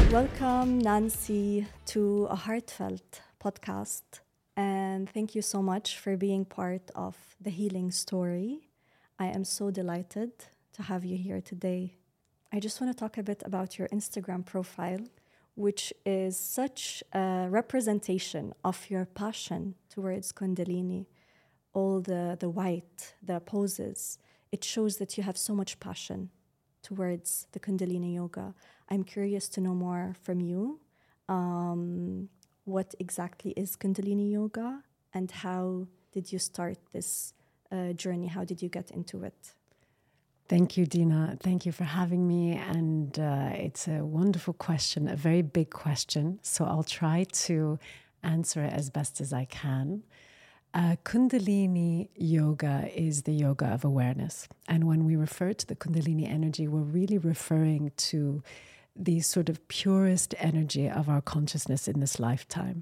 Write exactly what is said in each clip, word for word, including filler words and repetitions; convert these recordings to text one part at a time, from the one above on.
Welcome, Nancy, to a heartfelt podcast. And thank you so much for being part of the healing story. I am so delighted to have you here today. I just want to talk a bit about your Instagram profile, which is such a representation of your passion towards Kundalini. All the, the white, the poses, it shows that you have so much passion towards the Kundalini yoga. I'm curious to know more from you. Um, what exactly is Kundalini yoga and how did you start this uh, journey? How did you get into it? Thank you, Dina. Thank you for having me. And uh, it's a wonderful question, a very big question. So I'll try to answer it as best as I can. Uh, Kundalini yoga is the yoga of awareness. And when we refer to the Kundalini energy, we're really referring to the sort of purest energy of our consciousness in this lifetime.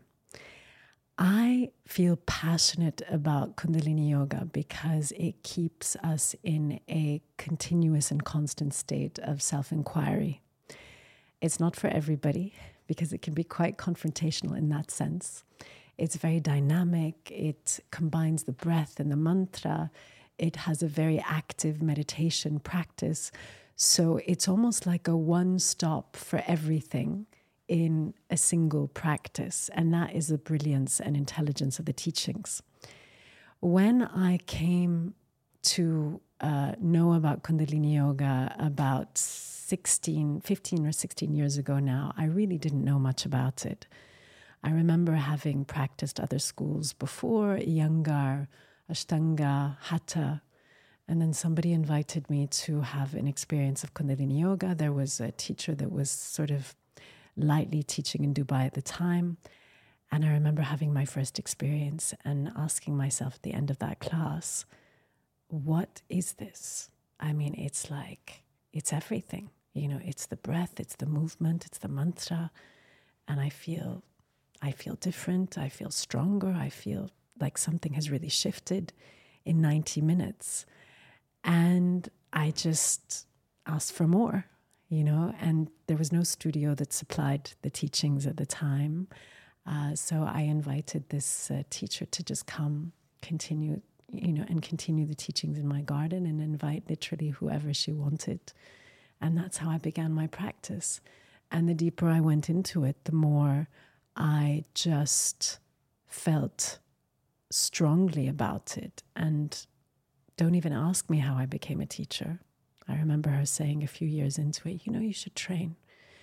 I feel passionate about Kundalini yoga because it keeps us in a continuous and constant state of self-inquiry. It's not for everybody because it can be quite confrontational in that sense. It's very dynamic. It combines the breath and the mantra. It has a very active meditation practice. So it's almost like a one-stop for everything in a single practice. And that is the brilliance and intelligence of the teachings. When I came to uh, know about Kundalini Yoga about sixteen, fifteen or sixteen years ago now, I really didn't know much about it. I remember having practiced other schools before, Iyengar, Ashtanga, Hatha, and then somebody invited me to have an experience of Kundalini Yoga. There was a teacher that was sort of lightly teaching in Dubai at the time. And I remember having my first experience and asking myself at the end of that class, what is this? I mean, it's like, it's everything. You know, it's the breath, it's the movement, it's the mantra. And I feel, I feel different. I feel stronger. I feel like something has really shifted in ninety minutes. And I just asked for more, you know, and there was no studio that supplied the teachings at the time. Uh, so I invited this uh, teacher to just come, continue, you know, and continue the teachings in my garden and invite literally whoever she wanted. And that's how I began my practice. And the deeper I went into it, the more I just felt strongly about it. And don't even ask me how I became a teacher. I remember her saying a few years into it, you know, you should train.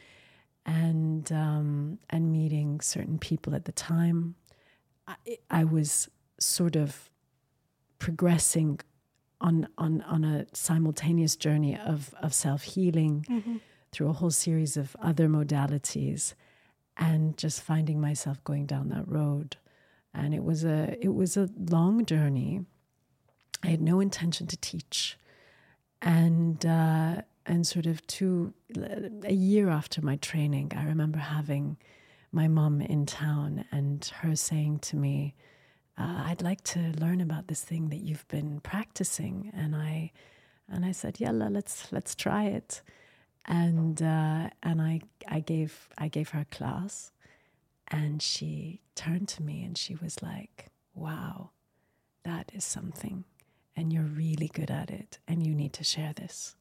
And um, and meeting certain people at the time, I, I was sort of progressing on on on a simultaneous journey of of self-healing mm-hmm. through a whole series of other modalities, and just finding myself going down that road. And it was a it was a long journey. I had no intention to teach. And uh, and sort of two, a year after my training, I remember having my mom in town and her saying to me, uh, I'd like to learn about this thing that you've been practicing. And I and I said, Yalla, let's let's try it. And uh, and I I gave I gave her a class, and she turned to me and she was like, wow, that is something. And you're really good at it, and you need to share this.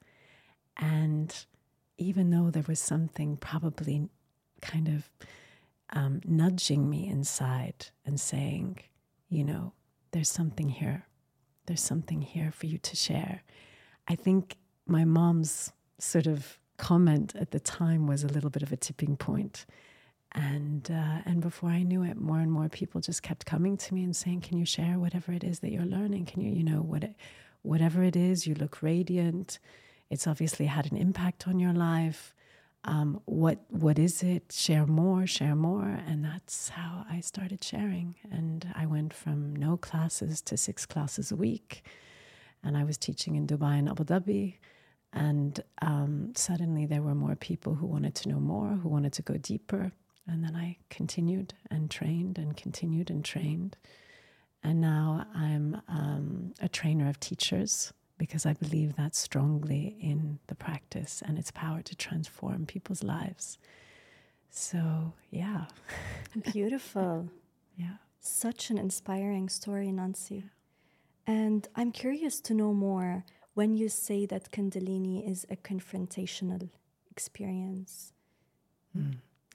And even though there was something probably kind of um, nudging me inside and saying, you know, there's something here. There's something here for you to share. I think my mom's sort of comment at the time was a little bit of a tipping point. And uh, and before I knew it, more and more people just kept coming to me and saying, can you share whatever it is that you're learning? Can you, you know, what it, whatever it is, you look radiant. It's obviously had an impact on your life. Um, what what is it? Share more, share more. And that's how I started sharing. And I went from no classes to six classes a week. And I was teaching in Dubai and Abu Dhabi. And um, suddenly there were more people who wanted to know more, who wanted to go deeper. And then I continued and trained and continued and trained. And now I'm um, a trainer of teachers because I believe that strongly in the practice and its power to transform people's lives. So, yeah. Beautiful. Yeah. Such an inspiring story, Nancy. And I'm curious to know more when you say that Kundalini is a confrontational experience. Mm.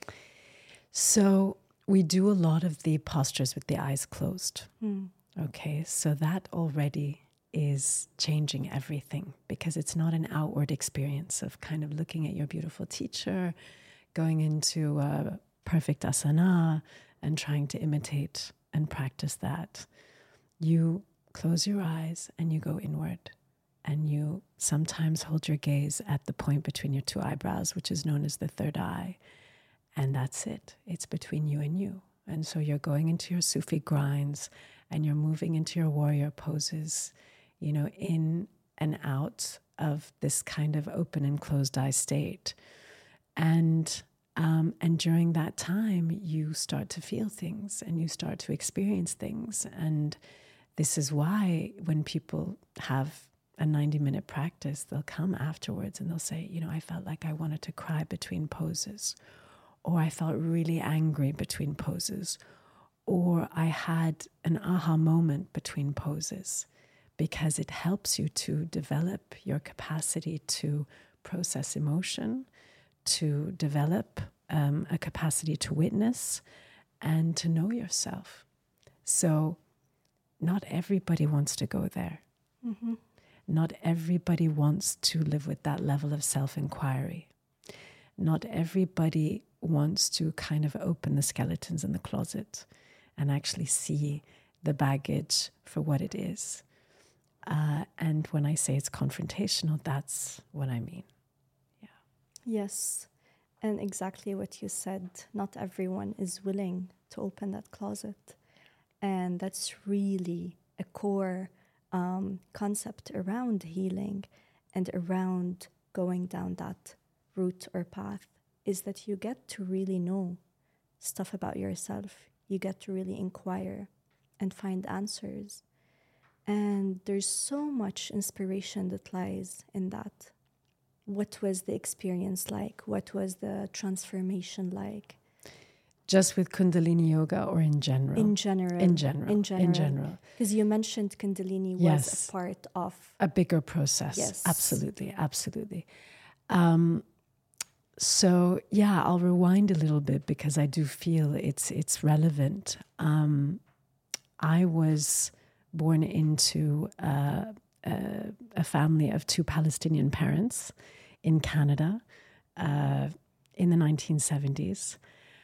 So we do a lot of the postures with the eyes closed. Mm. Okay, so that already is changing everything because it's not an outward experience of kind of looking at your beautiful teacher, going into a perfect asana and trying to imitate and practice that. You close your eyes and you go inward, and you sometimes hold your gaze at the point between your two eyebrows, which is known as the third eye. And that's it. It's between you and you. And so you're going into your Sufi grinds and you're moving into your warrior poses, you know, in and out of this kind of open and closed eye state. And um, and during that time, you start to feel things and you start to experience things. And this is why when people have a ninety minute practice, they'll come afterwards and they'll say, you know, I felt like I wanted to cry between poses. Or I felt really angry between poses, or I had an aha moment between poses, because it helps you to develop your capacity to process emotion, to develop um, a capacity to witness and to know yourself. So not everybody wants to go there. Mm-hmm. Not everybody wants to live with that level of self-inquiry. Not everybody wants to kind of open the skeletons in the closet and actually see the baggage for what it is. Uh, and when I say it's confrontational, that's what I mean. Yeah. Yes. And exactly what you said. Not everyone is willing to open that closet. And that's really a core um, concept around healing and around going down that route or path, is that you get to really know stuff about yourself. You get to really inquire and find answers. And there's so much inspiration that lies in that. What was the experience like? What was the transformation like? Just with Kundalini yoga or in general? In general. In general. In general. In general. Because you mentioned Kundalini was Yes. a part of... a bigger process. Yes. Absolutely. Absolutely. Um, So yeah, I'll rewind a little bit because I do feel it's it's relevant. Um, I was born into uh, a, a family of two Palestinian parents in Canada uh, in the nineteen seventies.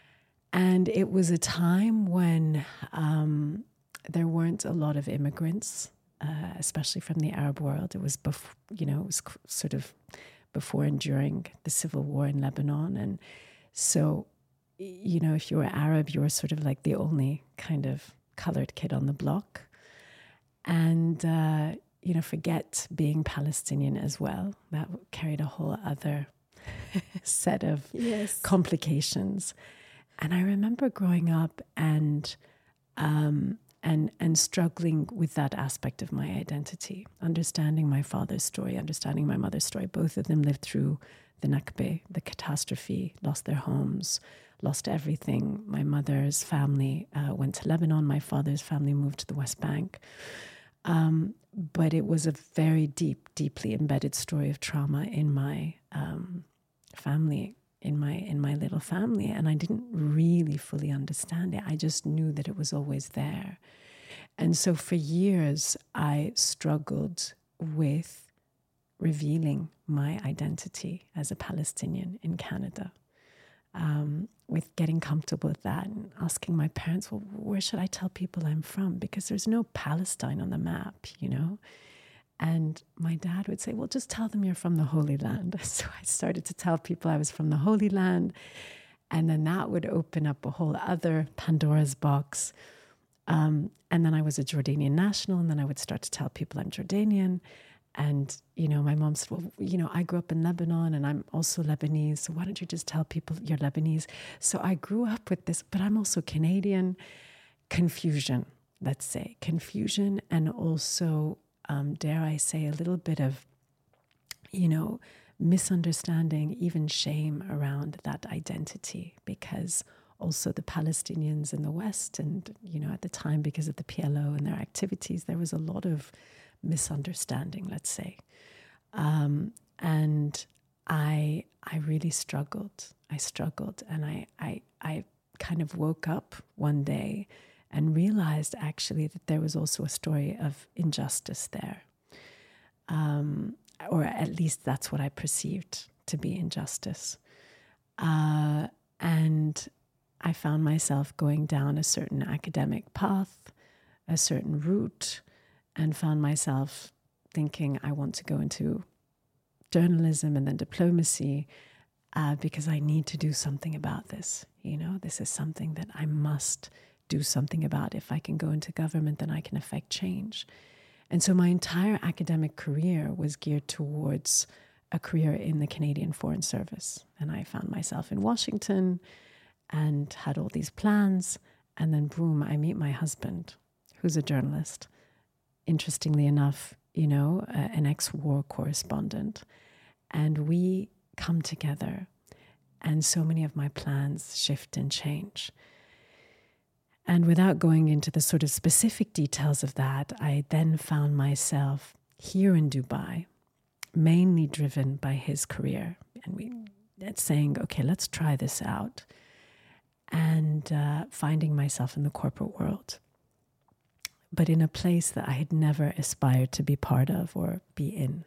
And it was a time when um, there weren't a lot of immigrants, uh, especially from the Arab world. It was, bef- you know, it was sort of before and during the civil war in Lebanon. And so, you know, if you were Arab, you were sort of like the only kind of colored kid on the block. And, uh, you know, forget being Palestinian as well. That carried a whole other set of yes. complications. And I remember growing up and um, and and struggling with that aspect of my identity, understanding my father's story, understanding my mother's story. Both of them lived through the Nakba, the catastrophe, lost their homes, lost everything. My mother's family uh, went to Lebanon. My father's family moved to the West Bank. Um, but it was a very deep, deeply embedded story of trauma in my um, family. in my in my little family, and I didn't really fully understand it. I just knew that it was always there. And so for years I struggled with revealing my identity as a Palestinian in Canada, um, with getting comfortable with that and asking my parents, well, where should I tell people I'm from? Because there's no Palestine on the map, you know? And my dad would say, well, just tell them you're from the Holy Land. So I started to tell people I was from the Holy Land. And then that would open up a whole other Pandora's box. Um, and then I was a Jordanian national. And then I would start to tell people I'm Jordanian. And, you know, my mom said, well, you know, I grew up in Lebanon and I'm also Lebanese. So why don't you just tell people you're Lebanese? So I grew up with this, but I'm also Canadian. Confusion, let's say. Confusion and also... Um, dare I say, a little bit of, you know, misunderstanding, even shame around that identity, because also the Palestinians in the West, and, you know, at the time, because of the P L O and their activities, there was a lot of misunderstanding, let's say. Um, and I I really struggled. I struggled, and I, I I kind of woke up one day and realized actually that there was also a story of injustice there. Um, or at least that's what I perceived to be injustice. Uh, and I found myself going down a certain academic path, a certain route, and found myself thinking I want to go into journalism and then diplomacy uh, because I need to do something about this. You know, this is something that I must do something about. If I can go into government, then I can affect change. And so my entire academic career was geared towards a career in the Canadian Foreign Service. And I found myself in Washington and had all these plans. And then boom, I meet my husband, who's a journalist. Interestingly enough, you know, uh, an ex-war correspondent. And we come together, and so many of my plans shift and change. And without going into the sort of specific details of that, I then found myself here in Dubai, mainly driven by his career. And we saying, okay, let's try this out. And uh, finding myself in the corporate world, but in a place that I had never aspired to be part of or be in.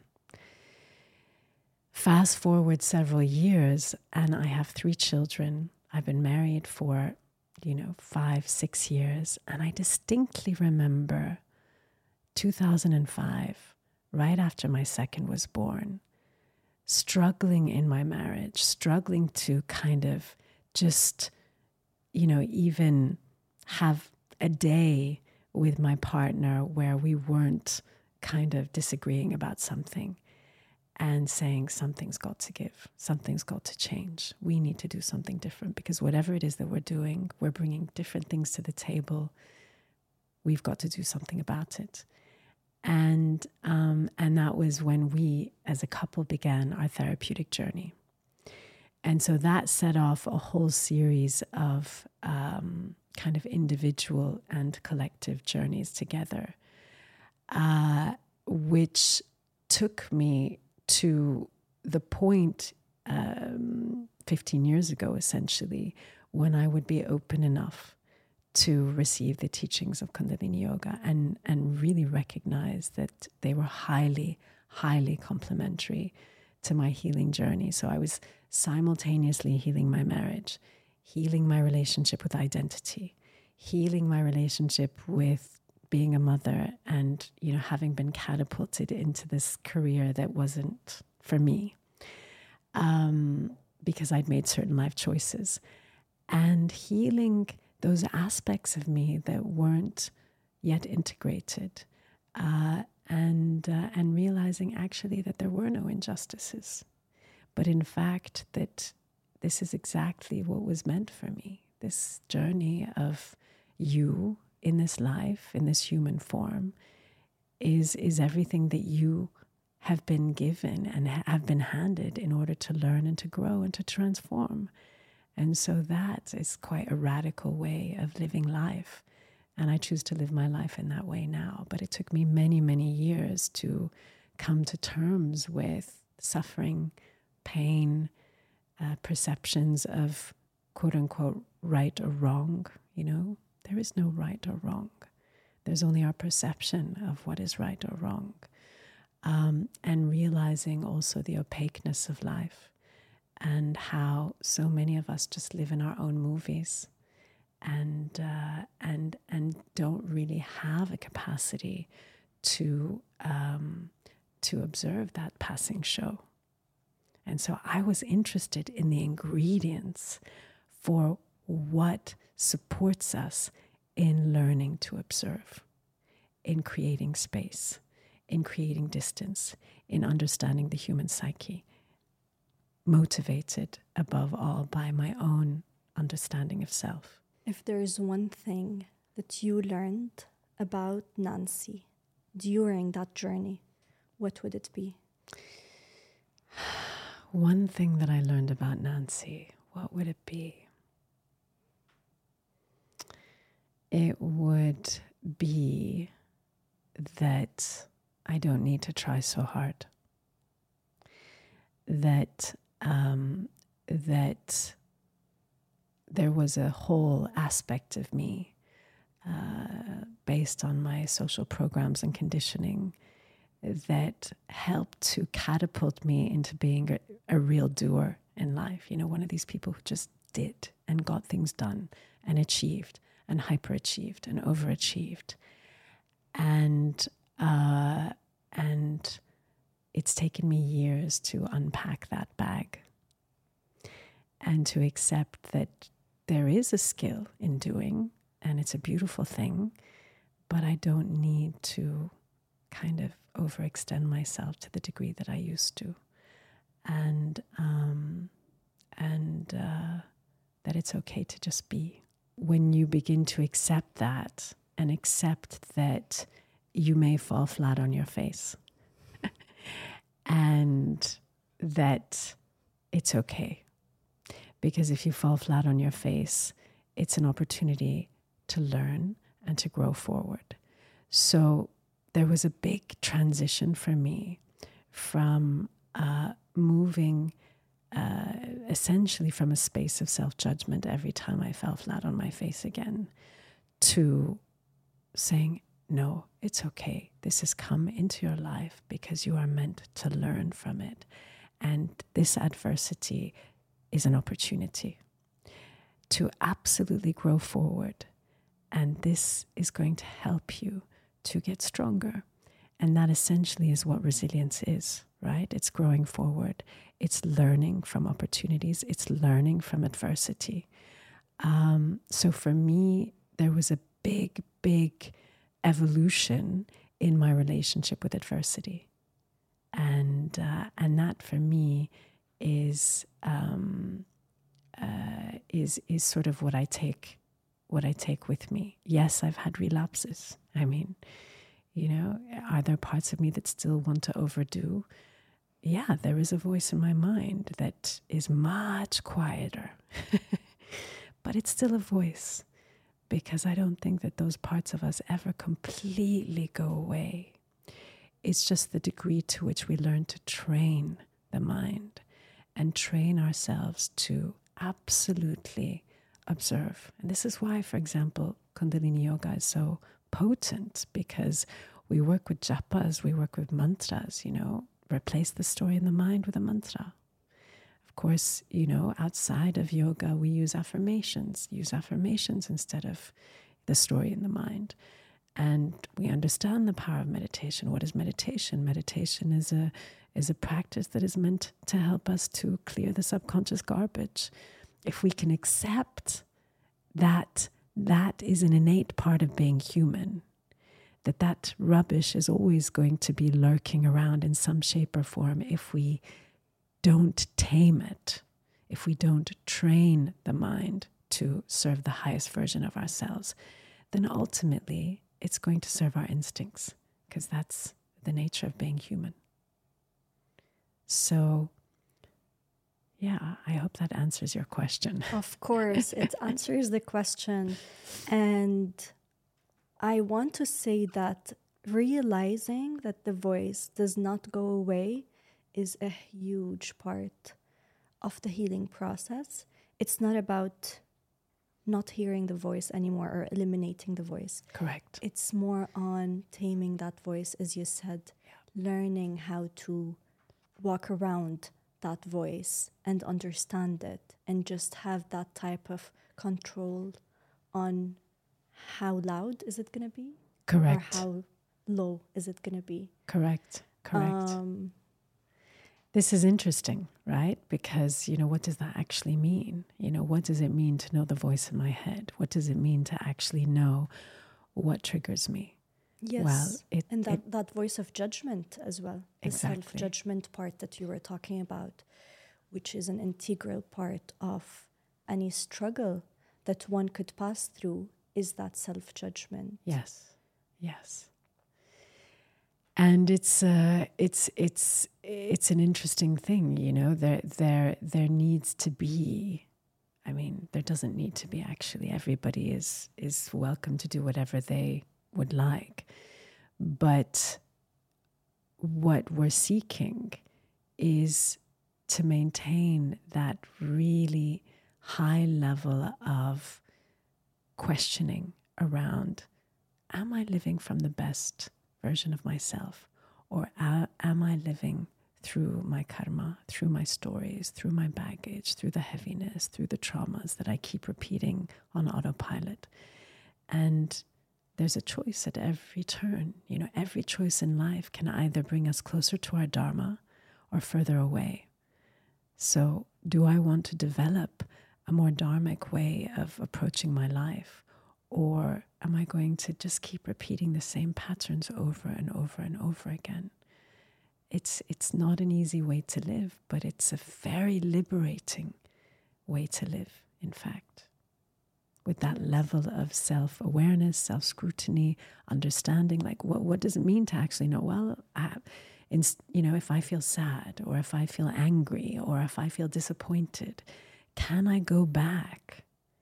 Fast forward several years, and I have three children. I've been married for, you know, five, six years. And I distinctly remember two thousand five, right after my second was born, struggling in my marriage, struggling to kind of just, you know, even have a day with my partner where we weren't kind of disagreeing about something and saying something's got to give, something's got to change. We need to do something different because whatever it is that we're doing, we're bringing different things to the table. We've got to do something about it. And um, and that was when we, as a couple, began our therapeutic journey. And so that set off a whole series of um, kind of individual and collective journeys together, uh, which took me to the point um, fifteen years ago, essentially, when I would be open enough to receive the teachings of Kundalini Yoga and, and really recognize that they were highly, highly complementary to my healing journey. So I was simultaneously healing my marriage, healing my relationship with identity, healing my relationship with being a mother, and, you know, having been catapulted into this career that wasn't for me um, because I'd made certain life choices, and healing those aspects of me that weren't yet integrated, uh, and uh, and realizing actually that there were no injustices, but in fact that this is exactly what was meant for me. This journey of you in this life, in this human form, is is everything that you have been given and ha- have been handed in order to learn and to grow and to transform. And so that is quite a radical way of living life. And I choose to live my life in that way now. But it took me many, many years to come to terms with suffering, pain, uh, perceptions of quote unquote right or wrong. You know, there is no right or wrong. There's only our perception of what is right or wrong. Um, and realizing also the opaqueness of life and how so many of us just live in our own movies and uh, and and don't really have a capacity to um, to observe that passing show. And so I was interested in the ingredients for what supports us in learning to observe, in creating space, in creating distance, in understanding the human psyche, motivated above all by my own understanding of self. If there is one thing that you learned about Nancy during that journey, what would it be? one thing that I learned about Nancy, what would it be? It would be that I don't need to try so hard. That um, that there was a whole aspect of me uh, based on my social programs and conditioning that helped to catapult me into being a, a real doer in life. You know, one of these people who just did and got things done and achieved and hyperachieved and overachieved. And uh, and it's taken me years to unpack that bag and to accept that there is a skill in doing, and it's a beautiful thing, but I don't need to kind of overextend myself to the degree that I used to. And um, and uh, that it's okay to just be. When you begin to accept that and accept that you may fall flat on your face and that it's okay. Because if you fall flat on your face, it's an opportunity to learn and to grow forward. So there was a big transition for me from uh, moving uh, essentially from a space of self-judgment every time I fell flat on my face again to saying, no, it's okay. This has come into your life because you are meant to learn from it. And this adversity is an opportunity to absolutely grow forward. And this is going to help you to get stronger. And that essentially is what resilience is, right? It's growing forward. It's learning from opportunities. It's learning from adversity. Um, so for me, there was a big, big evolution in my relationship with adversity. And uh, and that for me is um, uh, is is sort of what I take what I take with me. Yes, I've had relapses. I mean, you know, are there parts of me that still want to overdo? Yeah, there is a voice in my mind that is much quieter, but it's still a voice, because I don't think that those parts of us ever completely go away. It's just the degree to which we learn to train the mind and train ourselves to absolutely observe. And this is why, for example, Kundalini Yoga is so potent, because we work with japas, we work with mantras, you know, replace the story in the mind with a mantra. Of course, you know, outside of yoga, we use affirmations, use affirmations instead of the story in the mind. And we understand the power of meditation. What is meditation? Meditation is a is a practice that is meant to help us to clear the subconscious garbage. If we can accept that that is an innate part of being human, that that rubbish is always going to be lurking around in some shape or form if we don't tame it, if we don't train the mind to serve the highest version of ourselves, then ultimately it's going to serve our instincts, because that's the nature of being human. So, yeah, I hope that answers your question. Of course, it answers the question. And I want to say that realizing that the voice does not go away is a huge part of the healing process. It's not about not hearing the voice anymore or eliminating the voice. Correct. It's more on taming that voice, as you said, yeah. Learning how to walk around that voice and understand it, and just have that type of control on how loud is it going to be? Correct. Or how low is it going to be? Correct. Correct. Um, This is interesting, right? Because, you know, what does that actually mean? You know, what does it mean to know the voice in my head? What does it mean to actually know what triggers me? Yes. Well, it, and that, it, that voice of judgment as well. The exactly. self-judgment part that you were talking about, which is an integral part of any struggle that one could pass through, is that self-judgment. Yes. Yes. And it's uh, it's it's it's an interesting thing, you know. There there there needs to be. I mean, there doesn't need to be actually. Everybody is is welcome to do whatever they would like, but what we're seeking is to maintain that really high level of questioning around: am I living from the best version of myself, or a- am I living through my karma, through my stories, through my baggage, through the heaviness, through the traumas that I keep repeating on autopilot? And there's a choice at every turn. You know, every choice in life can either bring us closer to our dharma or further away. So do I want to develop a more dharmic way of approaching my life? Or am I going to just keep repeating the same patterns over and over and over again? It's it's not an easy way to live, but it's a very liberating way to live, in fact. With that level of self-awareness, self-scrutiny, understanding, like what, what does it mean to actually know, well, I, in, you know, if I feel sad, or if I feel angry, or if I feel disappointed, can I go back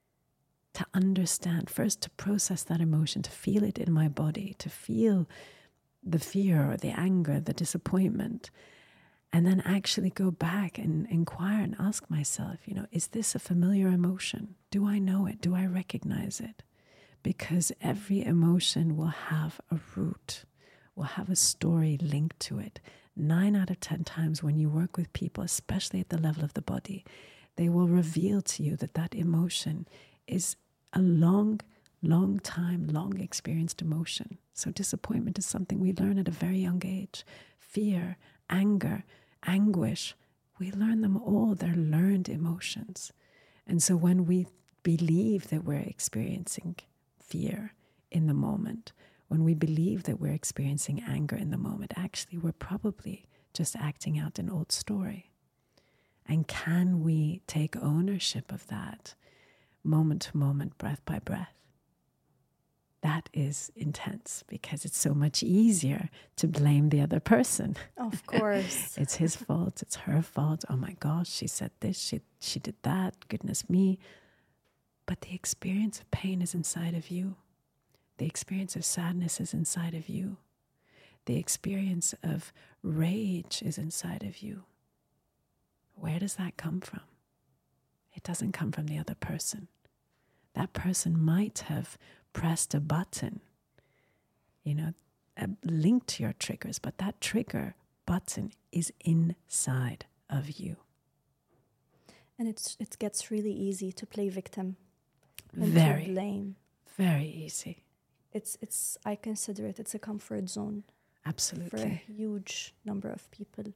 to understand, first to process that emotion, to feel it in my body, to feel the fear or the anger, the disappointment, and then actually go back and inquire and ask myself, you know, is this a familiar emotion? Do I know it? Do I recognize it? Because every emotion will have a root, will have a story linked to it. Nine out of ten times when you work with people, especially at the level of the body, they will reveal to you that that emotion is a long, long time, long experienced emotion. So disappointment is something we learn at a very young age. Fear, anger, anguish, we learn them all. They're learned emotions. And so when we believe that we're experiencing fear in the moment, when we believe that we're experiencing anger in the moment, actually we're probably just acting out an old story. And can we take ownership of that moment to moment, breath by breath? That is intense, because it's so much easier to blame the other person. Of course. It's his fault, it's her fault. Oh my gosh, she said this, she she did that, goodness me. But the experience of pain is inside of you. The experience of sadness is inside of you. The experience of rage is inside of you. Where does that come from? It doesn't come from the other person. That person might have pressed a button, you know, a link to your triggers, but that trigger button is inside of you. And it's it gets really easy to play victim and Very, to blame. Very easy. It's it's I consider it it's a comfort zone. Absolutely. For a huge number of people.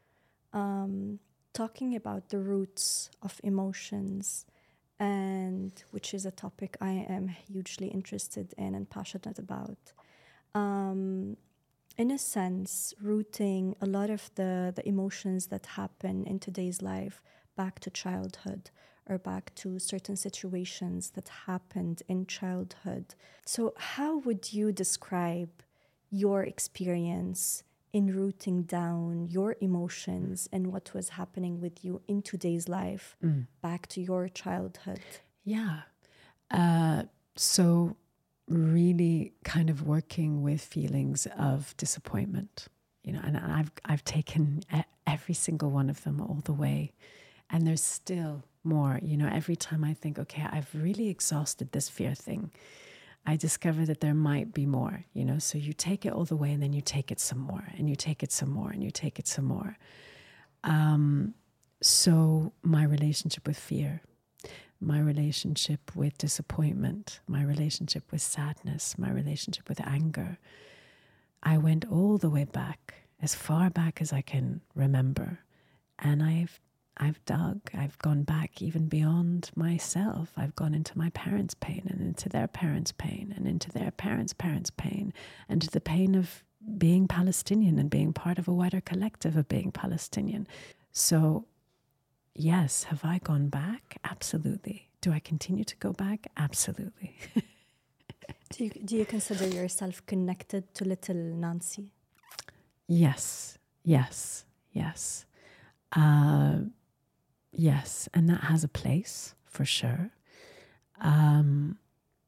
Um, talking about the roots of emotions, and which is a topic I am hugely interested in and passionate about. Um, in a sense, rooting a lot of the, the emotions that happen in today's life back to childhood, or back to certain situations that happened in childhood. So how would you describe your experience in rooting down your emotions and what was happening with you in today's life mm. back to your childhood? Yeah. Uh, so really kind of working with feelings of disappointment, you know, and I've, I've taken every single one of them all the way. And there's still more, you know, every time I think, okay, I've really exhausted this fear thing, I discover that there might be more, you know, so you take it all the way and then you take it some more and you take it some more and you take it some more. Um, so my relationship with fear, my relationship with disappointment, my relationship with sadness, my relationship with anger, I went all the way back, as far back as I can remember. And I've I've dug, I've gone back even beyond myself. I've gone into my parents' pain and into their parents' pain and into their parents' parents' pain and to the pain of being Palestinian and being part of a wider collective of being Palestinian. So, yes, have I gone back? Absolutely. Do I continue to go back? Absolutely. do you, do you consider yourself connected to little Nancy? Yes, yes, yes. Uh, yes, and that has a place for sure. Um,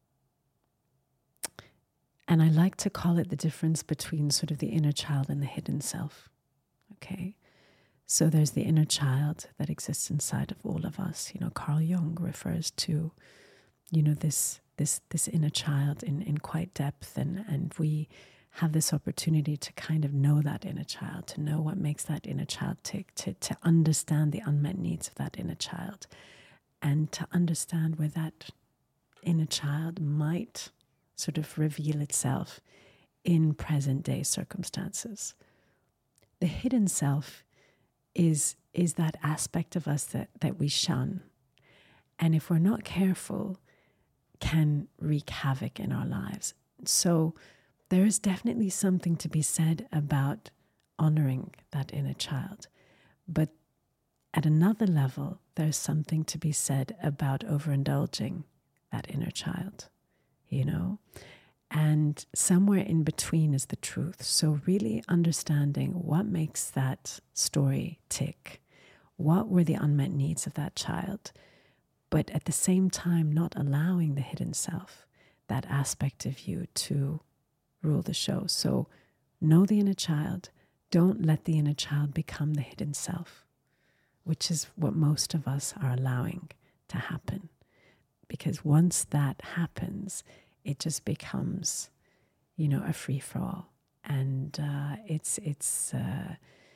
and I like to call it the difference between sort of the inner child and the hidden self. Okay. So there's the inner child that exists inside of all of us. You know, Carl Jung refers to, you know, this this this inner child in, in quite depth, and, and we have this opportunity to kind of know that inner child, to know what makes that inner child tick, to, to understand the unmet needs of that inner child, and to understand where that inner child might sort of reveal itself in present day circumstances. The hidden self is is that aspect of us that, that we shun. And if we're not careful, can wreak havoc in our lives. So there is definitely something to be said about honoring that inner child. But at another level, there's something to be said about overindulging that inner child, you know? And somewhere in between is the truth. So really understanding what makes that story tick. What were the unmet needs of that child? But at the same time, not allowing the hidden self, that aspect of you, to rule the show. So know the inner child. Don't let the inner child become the hidden self, which is what most of us are allowing to happen. Because once that happens, it just becomes, you know, a free-for-all. And uh, it's, it's, uh,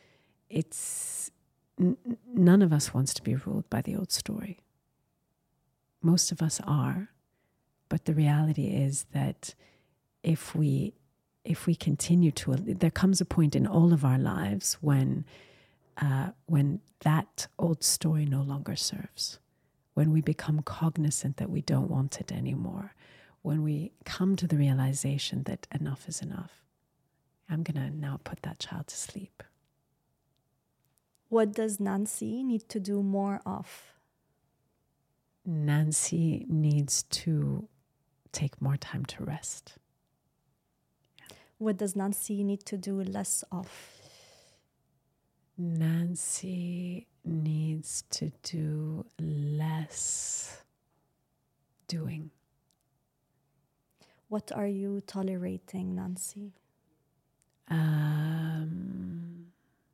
it's, n- none of us wants to be ruled by the old story. Most of us are, but the reality is that if we, if we continue to, there comes a point in all of our lives when, uh, when that old story no longer serves, when we become cognizant that we don't want it anymore, when we come to the realization that enough is enough. I'm going to now put that child to sleep. What does Nancy need to do more of? Nancy needs to take more time to rest. What does Nancy need to do less of? Nancy needs to do less doing. What are you tolerating, Nancy? Um,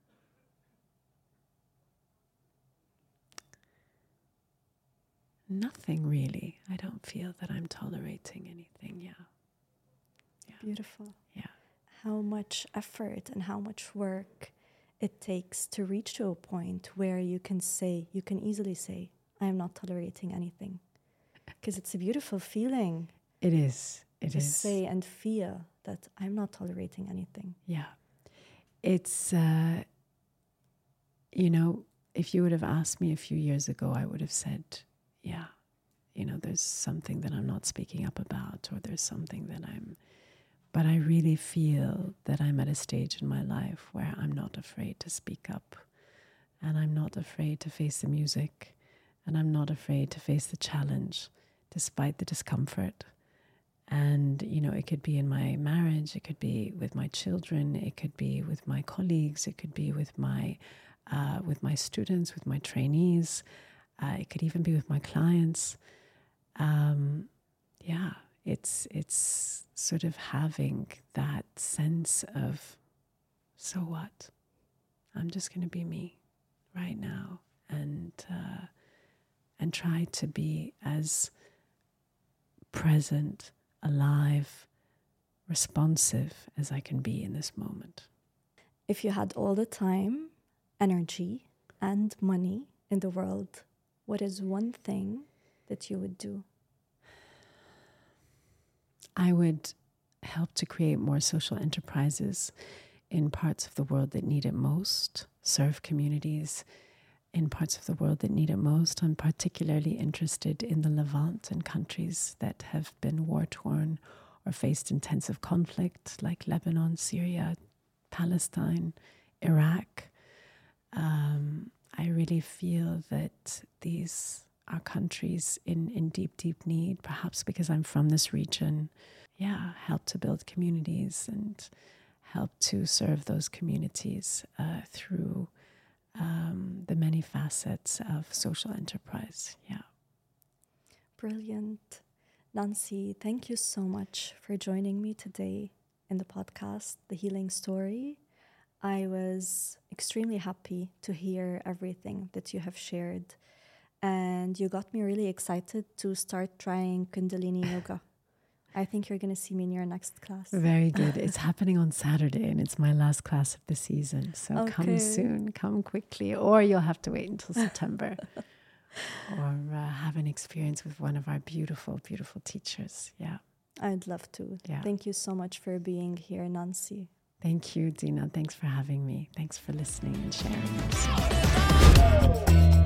nothing really. I don't feel that I'm tolerating anything. Yeah. Yeah. Beautiful. Yeah. How much effort and how much work it takes to reach to a point where you can say, you can easily say, I am not tolerating anything. Because it's a beautiful feeling. It is. It to is. say and feel that I'm not tolerating anything. Yeah. It's, uh, you know, if you would have asked me a few years ago, I would have said, yeah, you know, there's something that I'm not speaking up about, or there's something that I'm, but I really feel that I'm at a stage in my life where I'm not afraid to speak up, and I'm not afraid to face the music, and I'm not afraid to face the challenge despite the discomfort. And, you know, it could be in my marriage, it could be with my children, it could be with my colleagues, it could be with my, uh, with my students, with my trainees, uh, it could even be with my clients. Um, yeah, it's, it's sort of having that sense of, so what? I'm just going to be me right now, and, uh, and try to be as present, alive, responsive as I can be in this moment. If you had all the time, energy, and money in the world, what is one thing that you would do? I would help to create more social enterprises in parts of the world that need it most, serve communities in parts of the world that need it most. I'm particularly interested in the Levant and countries that have been war-torn or faced intensive conflict, like Lebanon, Syria, Palestine, Iraq. Um, I really feel that these are countries in, in deep, deep need, perhaps because I'm from this region. Yeah, help to build communities and help to serve those communities uh, through um, the many facets of social enterprise. Yeah. Brilliant. Nancy, thank you so much for joining me today in the podcast, The Healing Story. I was extremely happy to hear everything that you have shared. And you got me really excited to start trying Kundalini Yoga. I think you're going to see me in your next class. Very good. It's happening on Saturday and it's my last class of the season. So okay. Come soon, come quickly, or you'll have to wait until September. Or uh, have an experience with one of our beautiful, beautiful teachers. Yeah. I'd love to. Yeah. Thank you so much for being here, Nancy. Thank you, Dina. Thanks for having me. Thanks for listening and sharing.